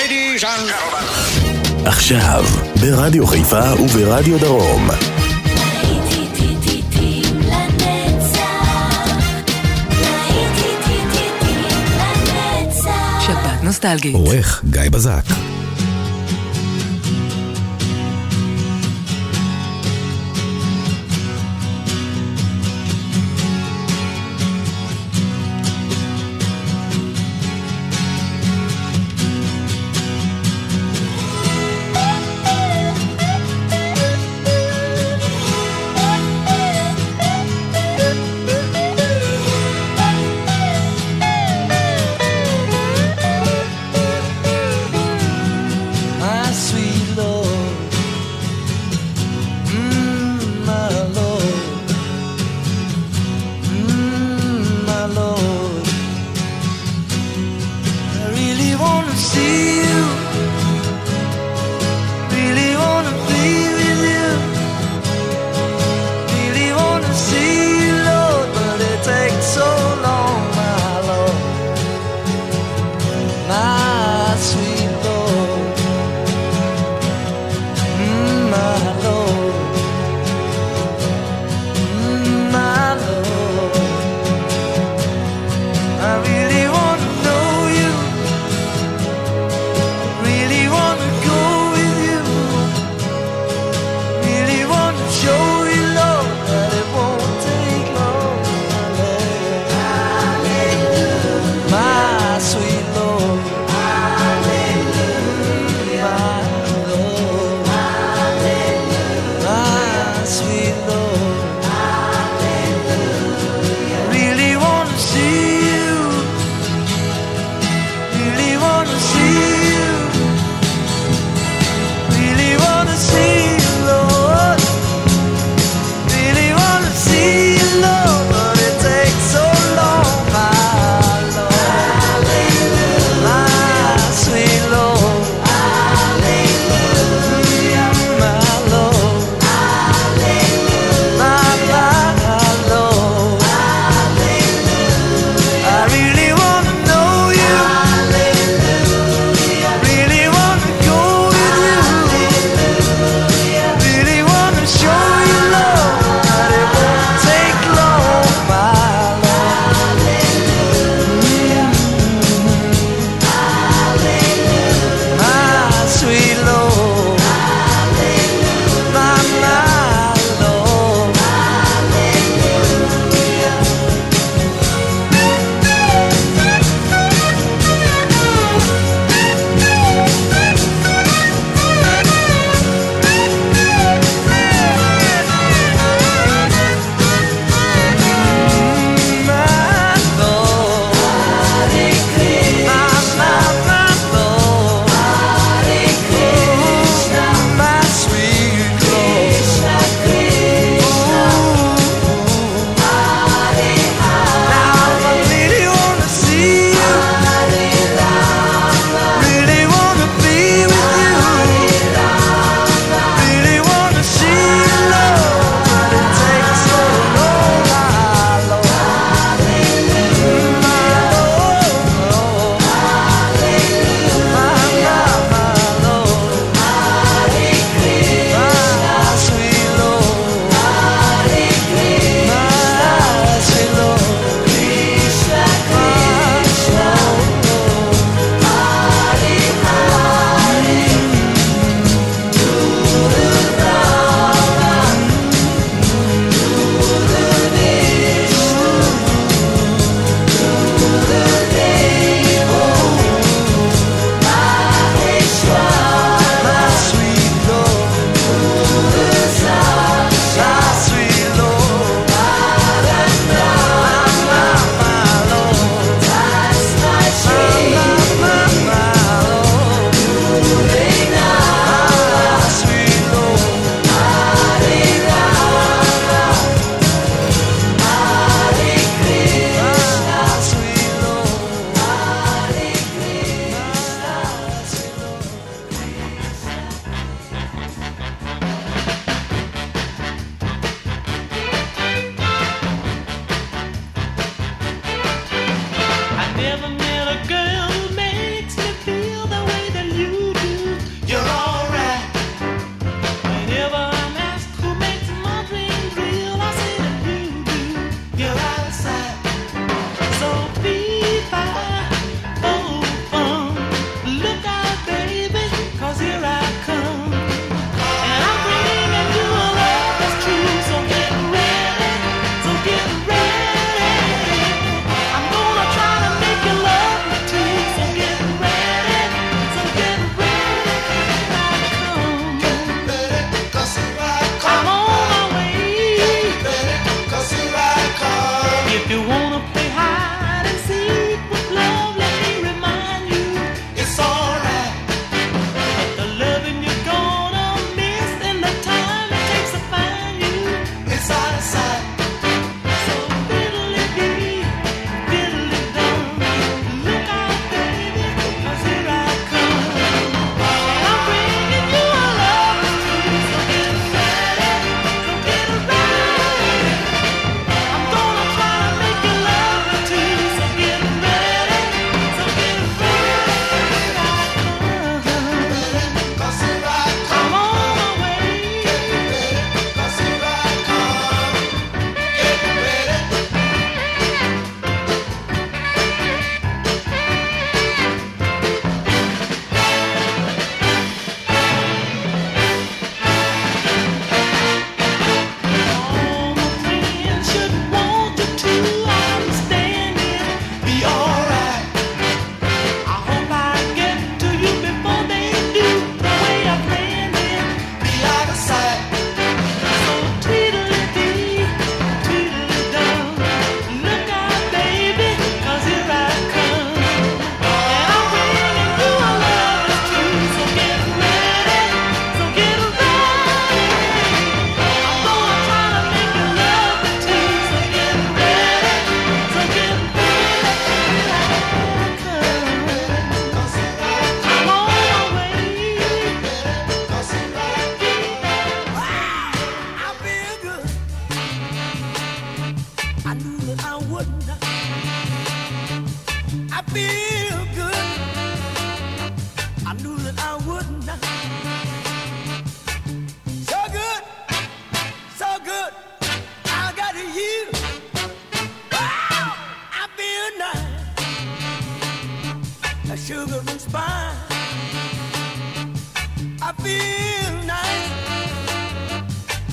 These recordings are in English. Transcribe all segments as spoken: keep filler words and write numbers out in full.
Ladies and gentlemen. עכשיו, ברדיו חיפה וברדיו דרום. שבת נוסטלגית. עורך גיא בזק.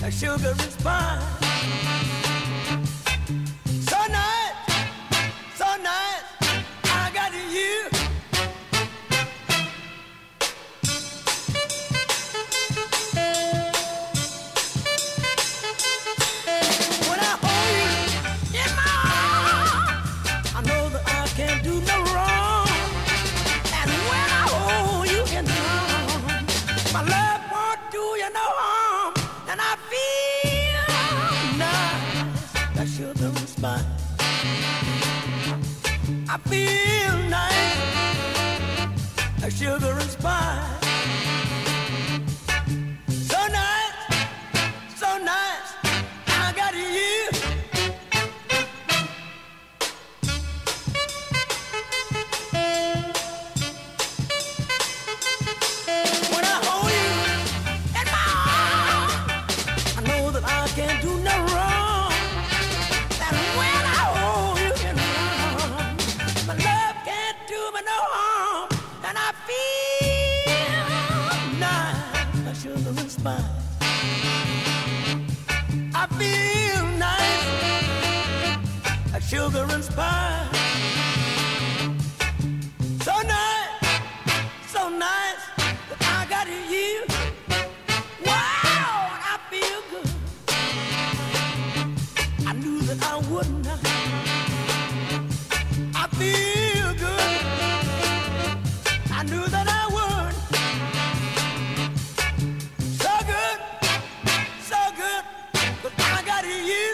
like sugar and spice. So nice, so nice, I got you. When I hold you in my arms, I know that I can't do no wrong. And when I hold you in my arms, my love won't do you no harm. And I feel nice, like sugar and spice. I feel nice, like sugar and spice. So nice, so nice, I got you. When I hold you in my arms, I know that I can't do no wrong. And when I hold you in my arms, my love can't do me no harm. And I feel nice, like sugar and spice. I feel nice, like sugar and spice. So nice, so nice, that I got you. Wow, I feel good. I knew that I wouldn't. I feel good. I knew that I would. So good, so good, but I got you.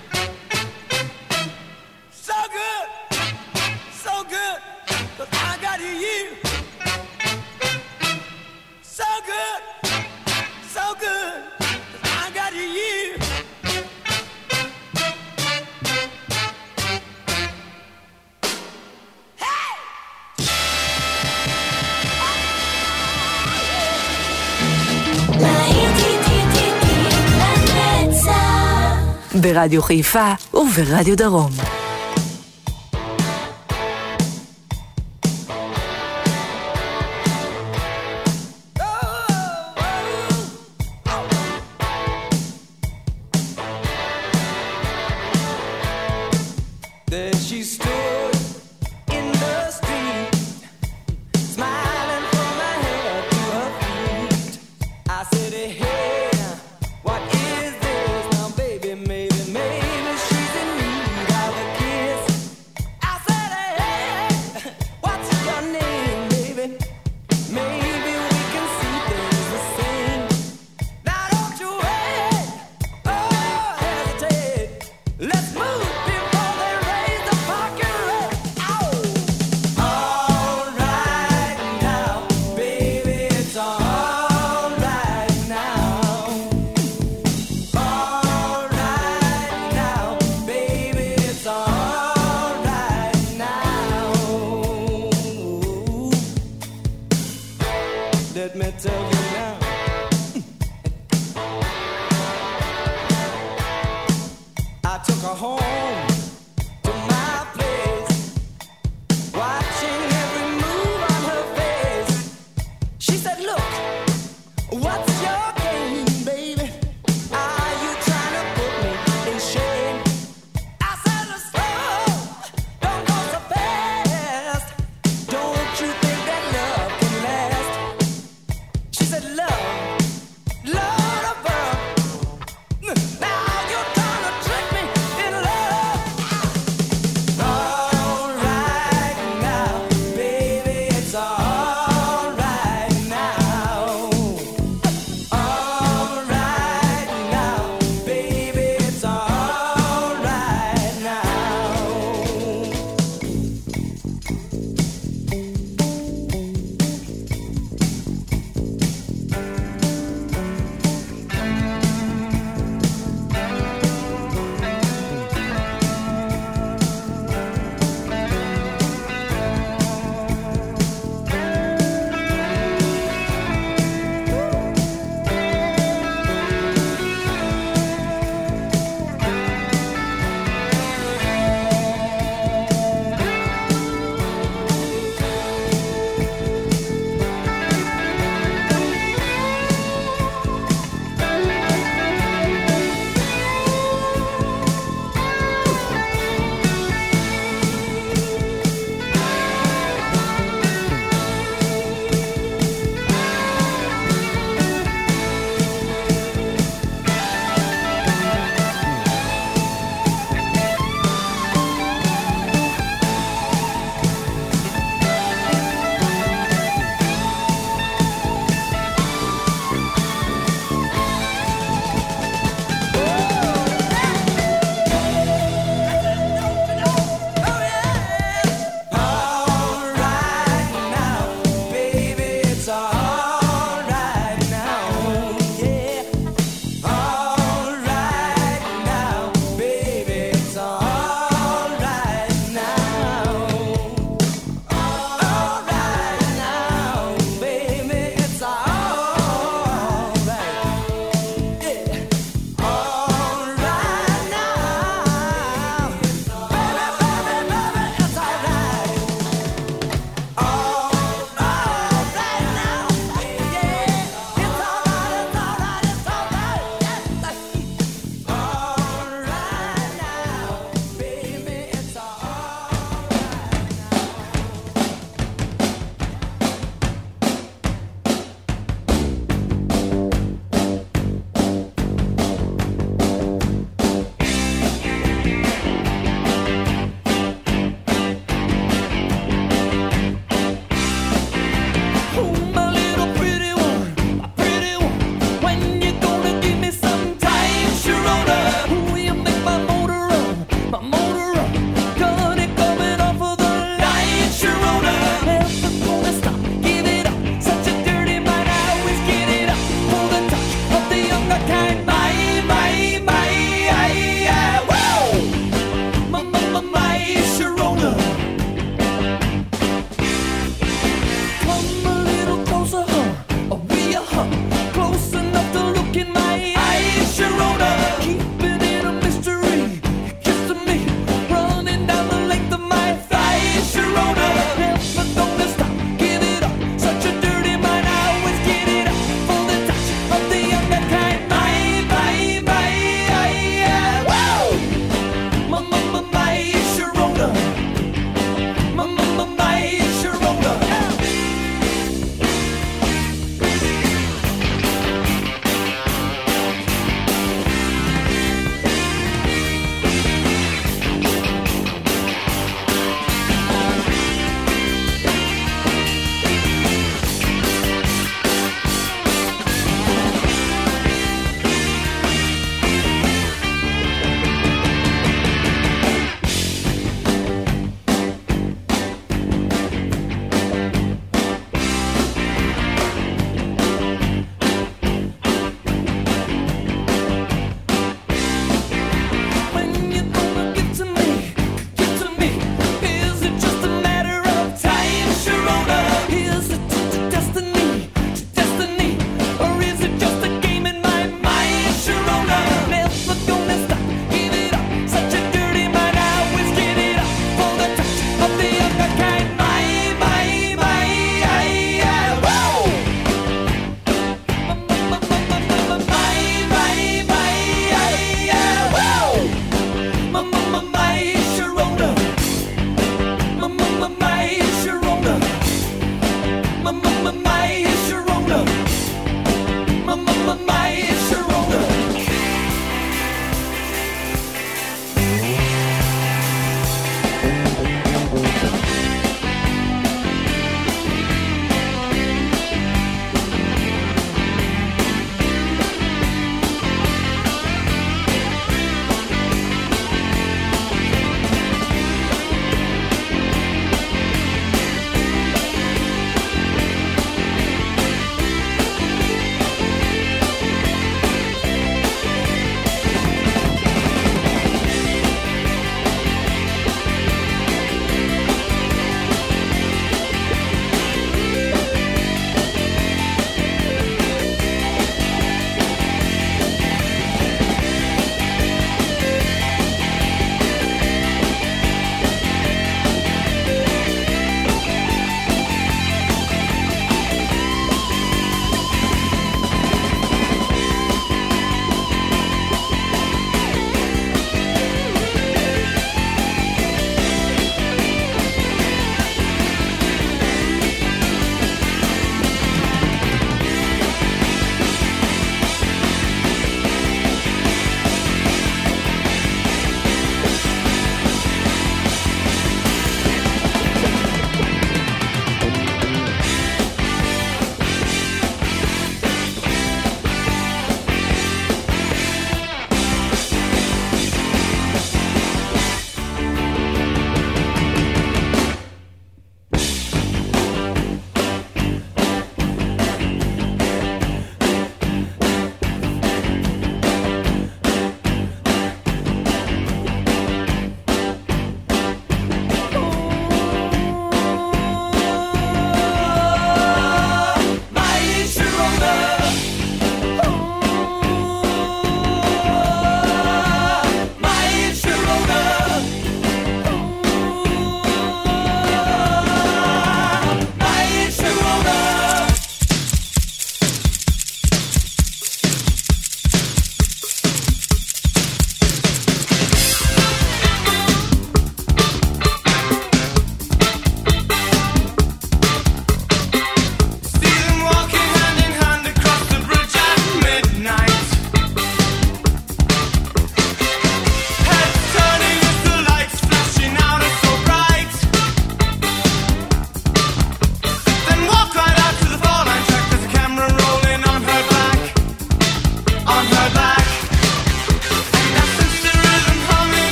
So good, so good, but I got you. So good, so good, but I got you. ברדיו חיפה וברדיו דרום. There she stood in the street, smiling from her head to her feet. I said, hey, what is this now, baby? Maybe, maybe she's in need of a kiss. I said, hey, what's your name, baby? Maybe we can see things the same. Now don't you wait, oh, hesitate. Let's move before they raise the parking rate. Ow! All right now, baby, it's all right now. All right now, baby, it's all right now. Let me tell you now. I took her home to my place, watching every move on her face. She said, look, what's your game, baby? Are you trying to put me in shame? I said, slow, don't go so fast. Don't you think that love can last? She said,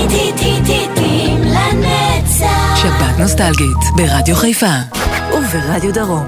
להיטים לנצח. שבת נוסטלגית ברדיו חיפה וברדיו דרום.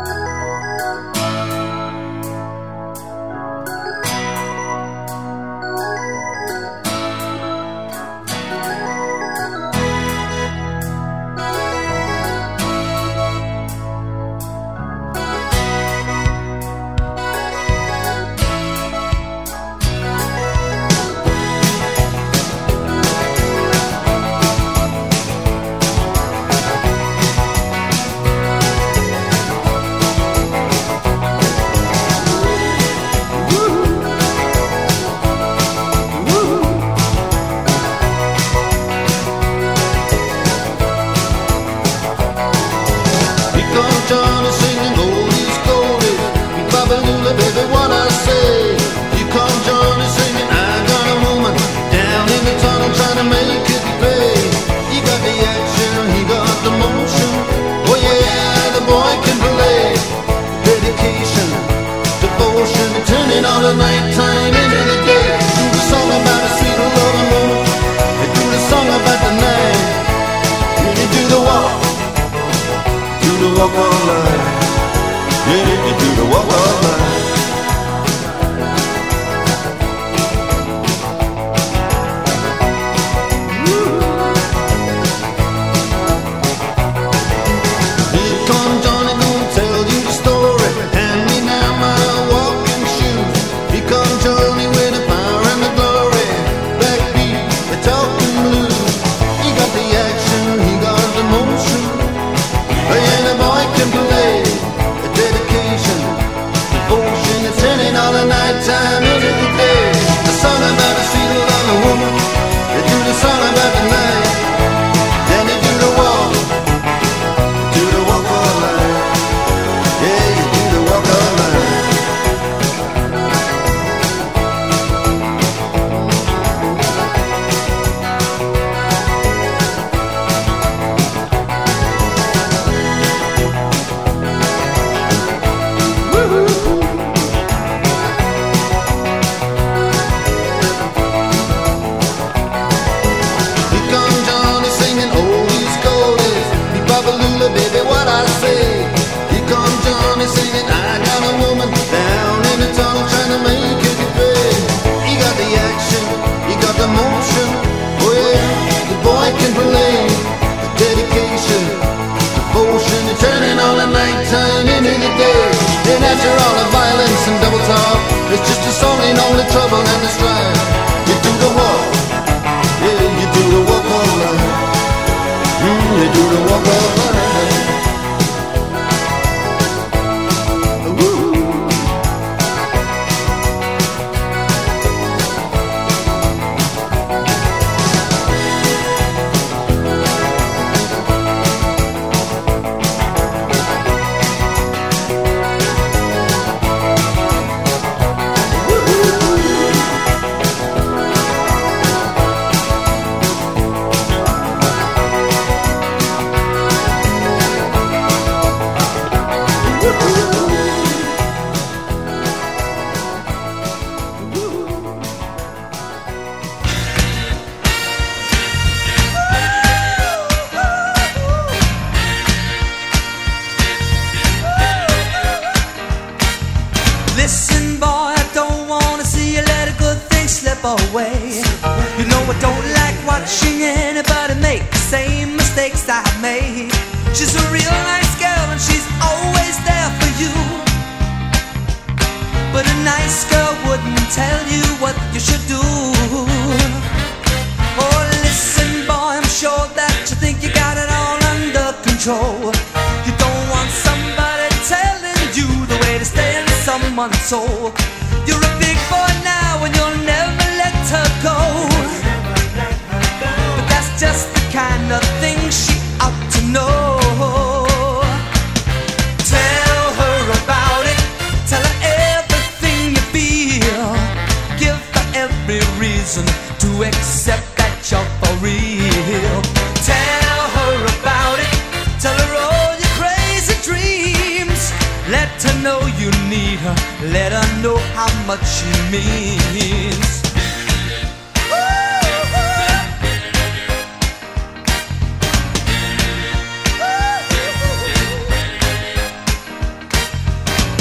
Let her know how much she means. Ooh, ooh.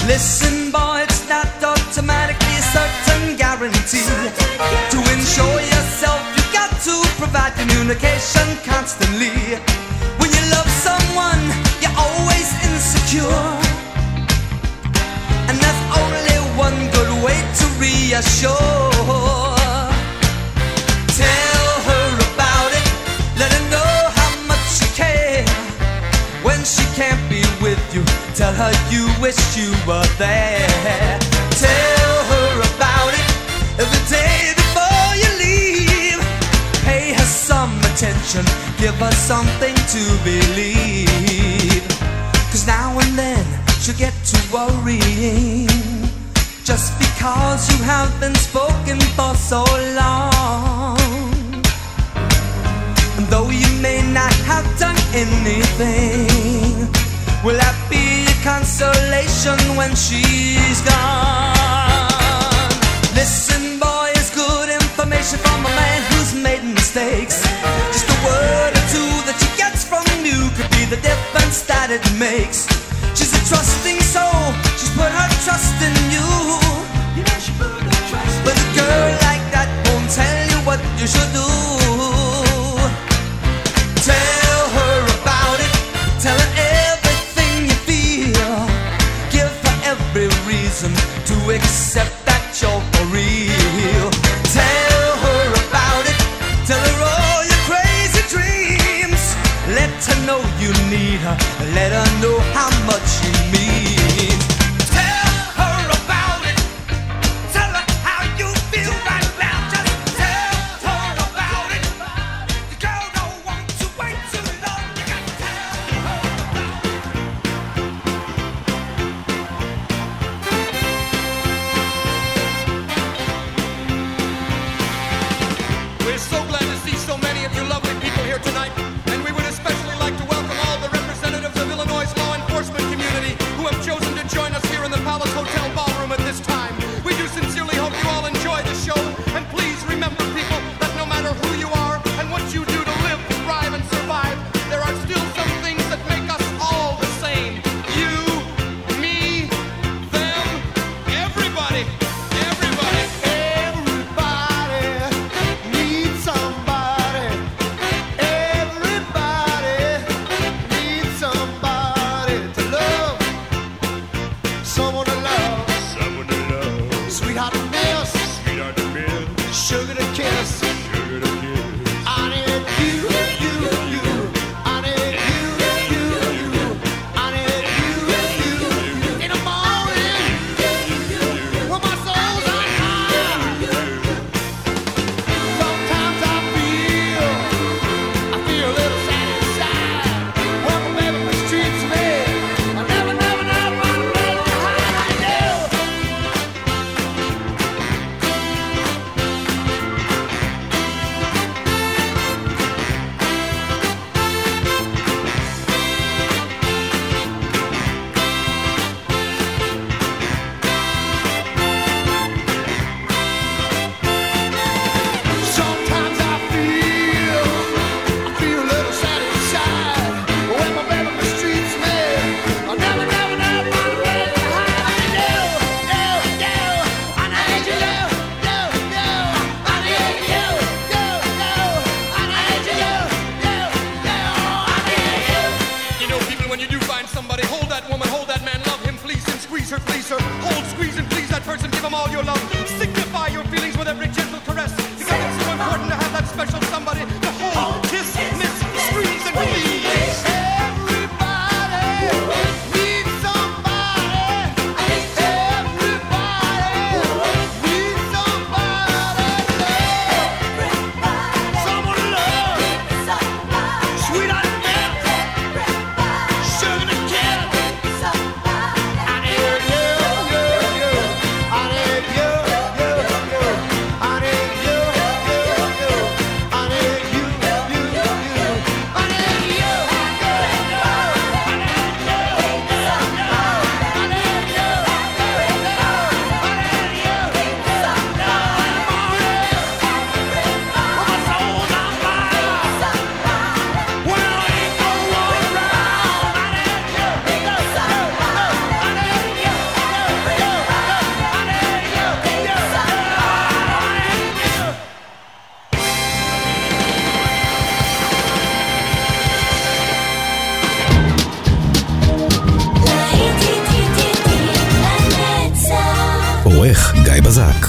Listen, boy, it's not automatically a certain guarantee. To ensure yourself, you got to provide communication constantly. When you love someone, you're always insecure, and there's only one good way to reassure. Tell her about it, let her know how much you care. When she can't be with you, tell her you wish you were there. Tell her about it every day before you leave. Pay her some attention, give her something to believe. Cause now and then she'll get to worrying, just because you have been spoken for so long. And though you may not have done anything, will that be a consolation when she's gone? Listen, boy, it's good information from a man who's made mistakes. Just a word or two that she gets from you could be the difference that it makes. She's a trusting soul, she's put her trust in you. You know she put her trust in you. But a girl like that won't tell you what you should do. Tell her about it, tell her everything you feel. Give her every reason to accept that you're for real. Tell her about it, tell her all your crazy dreams. Let her know you need her, let her know how much you mean. Tell her about it, tell her how you feel right now. Just tell her about it. The girl don't want to wait too long. You gotta tell her about it. We're so glad to see so many of you lovely people here tonight, and we would especially like to welcome all the representatives of Illinois' law enforcement community who have chosen to join us here in the Palace Hotel ballroom at this time. We do sincerely hope you all enjoy the show, and please remember, people, that no matter who you are and what you do to live, thrive, and survive, there are still some things that make us all the same. You, me, them, everybody, everybody. Everybody needs somebody. Everybody needs somebody to love. Someone to love. Someone to love, Sweetheart to miss. sweetheart to miss, Sugar to kiss. sugar to kiss. I need you, you, you. I need you, you, you. I need you, you, you. In the morning, when my soul's on fire. Sometimes I feel, I feel a little sad inside. When my baby mistreats me, I never, never, never run away behind you. Sometimes I feel, I feel a little sad inside. When my baby mistreats me, I never, never, never run away behind you. You, you, I need you. You, you, I need you. You, you, I need you. You, you, I need you. You know, people, when you do find somebody, hold that woman, hold that man, love him, please him, squeeze her, please her. Hold, squeeze, and please that person, give him all your love. Signify your feelings with every gentle caress, because it's so important to have that special somebody to hold, kiss, miss, squeeze, and please. Everybody needs somebody. Everybody needs somebody to love. Someone to love. Sweetheart to miss. Sugar to kiss. I need you, you, you. I need you, you, you. בזק.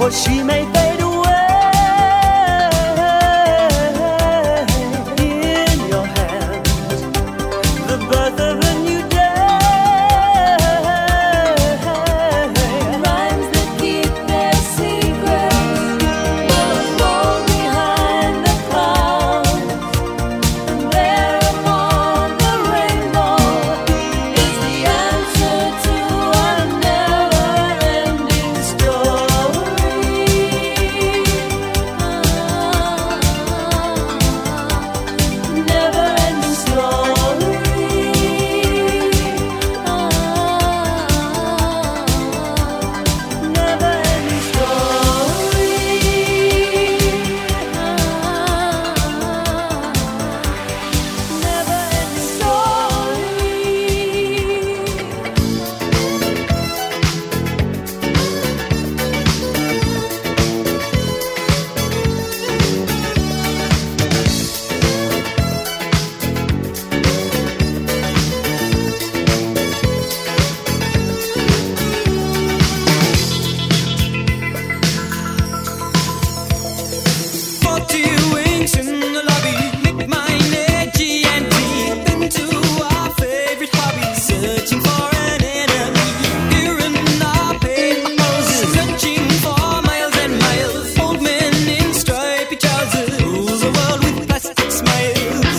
for she may fade away. In your hands, the birth of a new day. Rhymes that keep their secrets will fall behind the clouds. And there upon the rainbow is the answer to a never-ending story. Never-ending story. Never-ending Forty wings in the lobby, make mine edgy and deep into our favorite hobby, searching for an enemy. Here in our paper houses, searching for miles and miles. Old men in stripy trousers, rule the world with plastic smiles.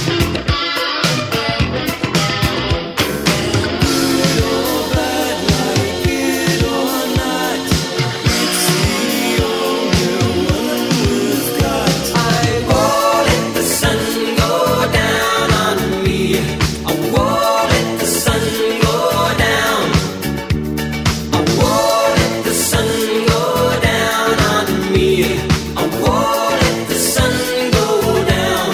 Good or bad, like it or not, it's the only one we've got. I won't let the sun go down on me. I won't let the sun go down. I won't let the sun go down on me. I won't let the sun go down.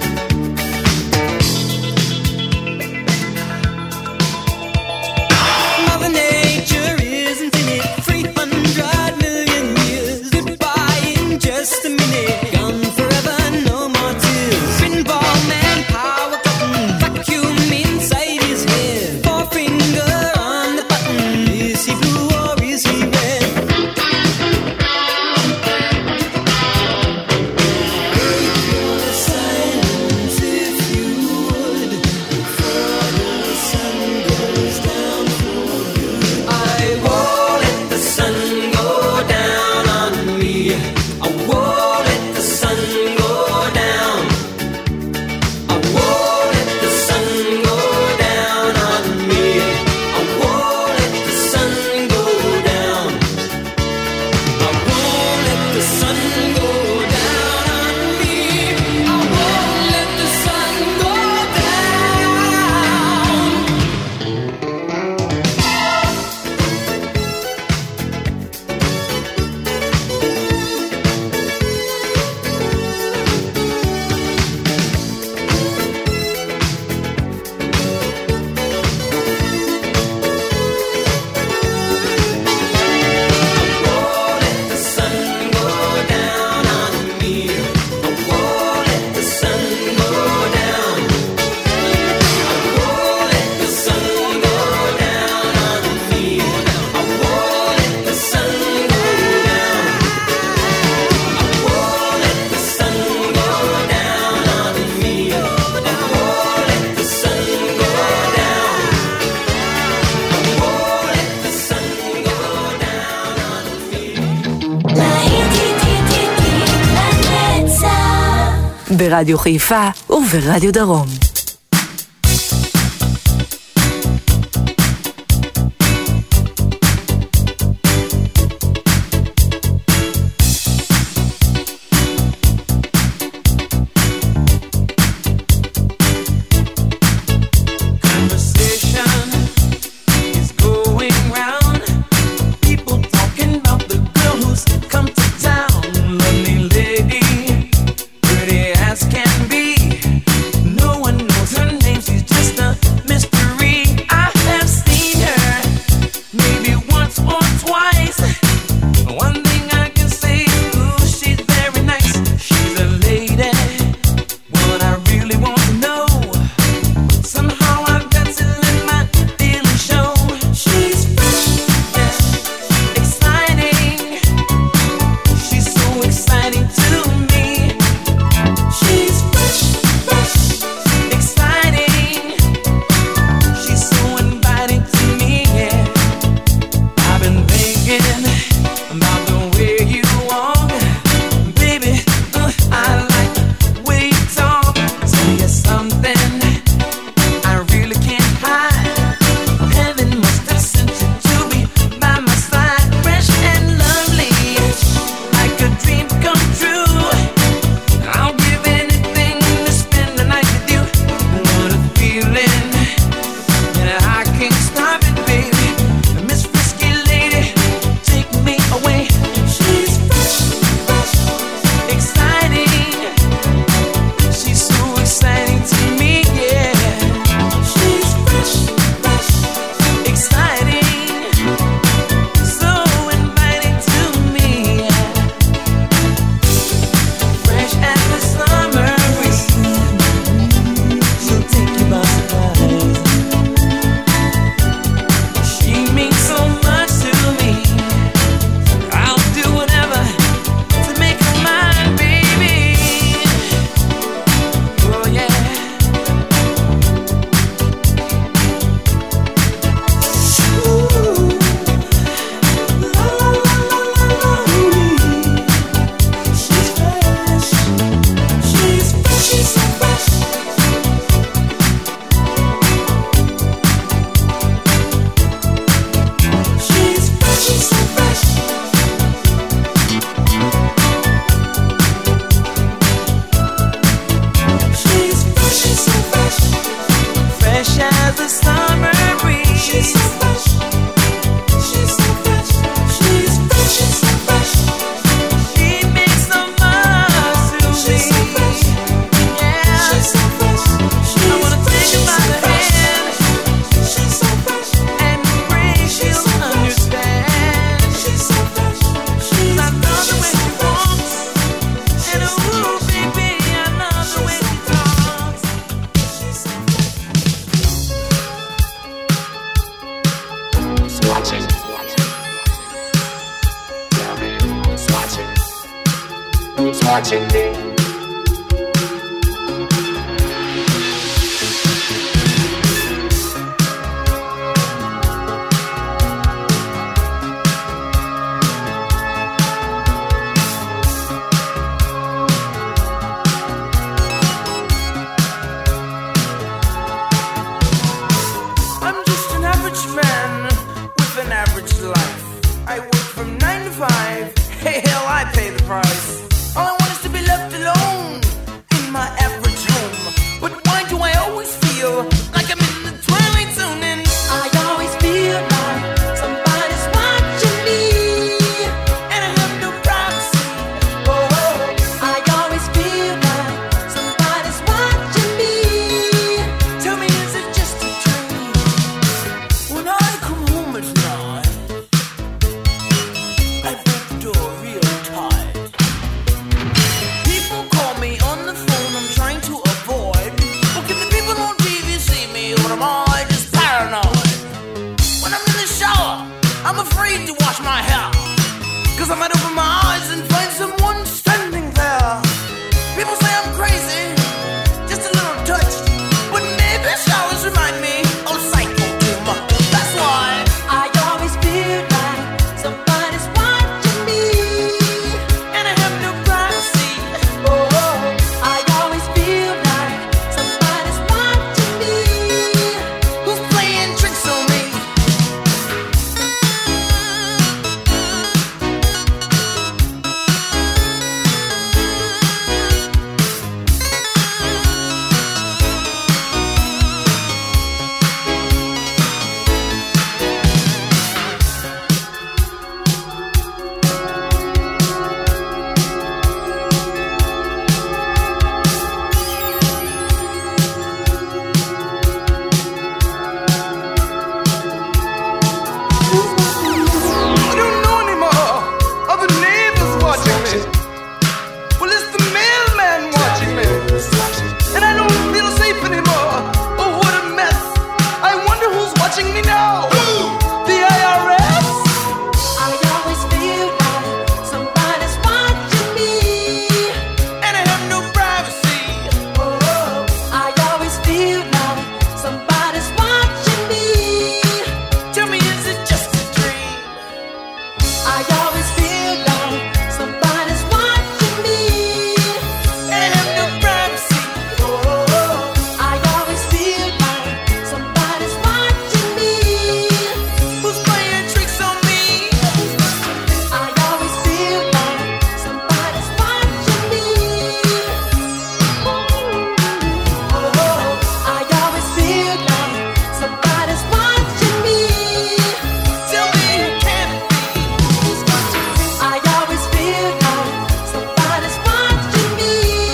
Mother Nature isn't in it. Three hundred million years, goodbye in just a minute. Gone forever, no more tears. Pinball man, power button, vacuum inside his head. Forefinger on the button. Is he blue or is he red? Break your silence if you would, before the sun goes down for good. I won't let the sun go down on me. I won't let the sun go down. I won't let the sun go down on me. I won't let the sun go down. I won't let the sun go down on me. I won't let the sun go down. Won't let the sun go down on me. I won't let the sun go down. I won't let the sun go down on me. I won't let the sun go down. I won't let the sun go down on me. I won't let the sun go down. I won't let the sun go down on me. ברדיו חיפה וברדיו דרום. Conversation is going round. People talking about the girl who's come to town. Lovely lady, pretty as can be. No one watching? Tell me who's watching? Who's watching me? I'm just an average man with an average life. I work from nine to five. Hey, hell, I pay the price. All I want is to be left alone in my average home. But why do I always feel like I'm in the twilight zone? And I always feel like somebody's watching me, and I have no privacy. Oh, I always feel like somebody's watching me. Tell me, is it just a dream? When I come home at night, I break the door real tight. People call me on the phone, I'm trying to avoid. Oh, can the people on T V see me, or am I just paranoid? When I'm in the shower, I'm afraid to wash my hair, 'cause I might open my eyes and find someone standing there. People say I'm crazy, just a little touched, but maybe showers remind me of psycho too much. That's why I always feel like somebody's watching me, and I have no privacy. Oh, I always feel like somebody's watching me. Who's playing tricks on me? I don't know anymore. Are the neighbors watching me? Well, it's the mailman watching me. And I don't feel safe anymore. Oh, what a mess. I wonder who's watching me now. The I R S? I always feel like somebody's watching me, and I have no privacy. Oh, I always feel like somebody's watching me. Tell me, is it just a dream? I always feel like somebody's watching me, and I have no privacy. Oh, I always feel like somebody's watching me. Who's playing tricks on me? I always feel like somebody's watching me. Oh, I always feel like somebody's watching me. Tell me who can it be? Who's watching me? I always feel like somebody's watching me.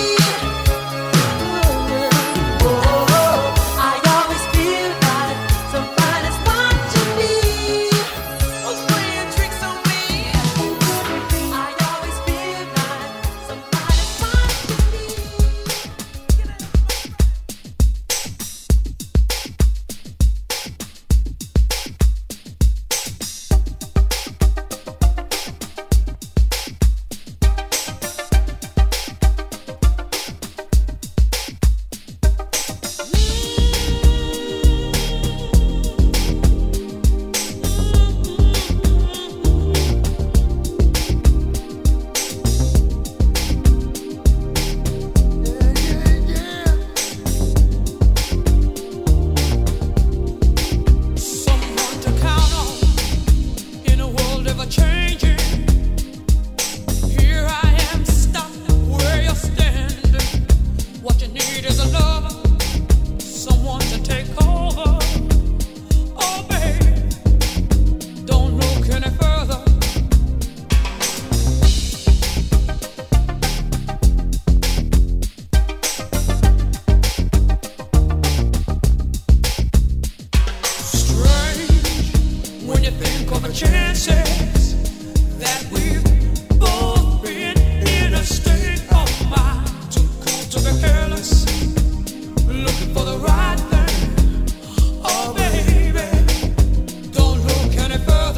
Oh, I always feel like somebody's watching me. Who's playing tricks on me? I always feel like somebody's watching me. Someone to count on in a world ever changing. Here I am stuck where you're standing. What you need is a lover, someone to take over. Oh, babe, don't look any further. Strange when you think of the chances that we've both been in a state of mind too cool to be careless, looking for the right thing. Oh, baby, don't look any further.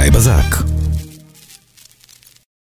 בזק.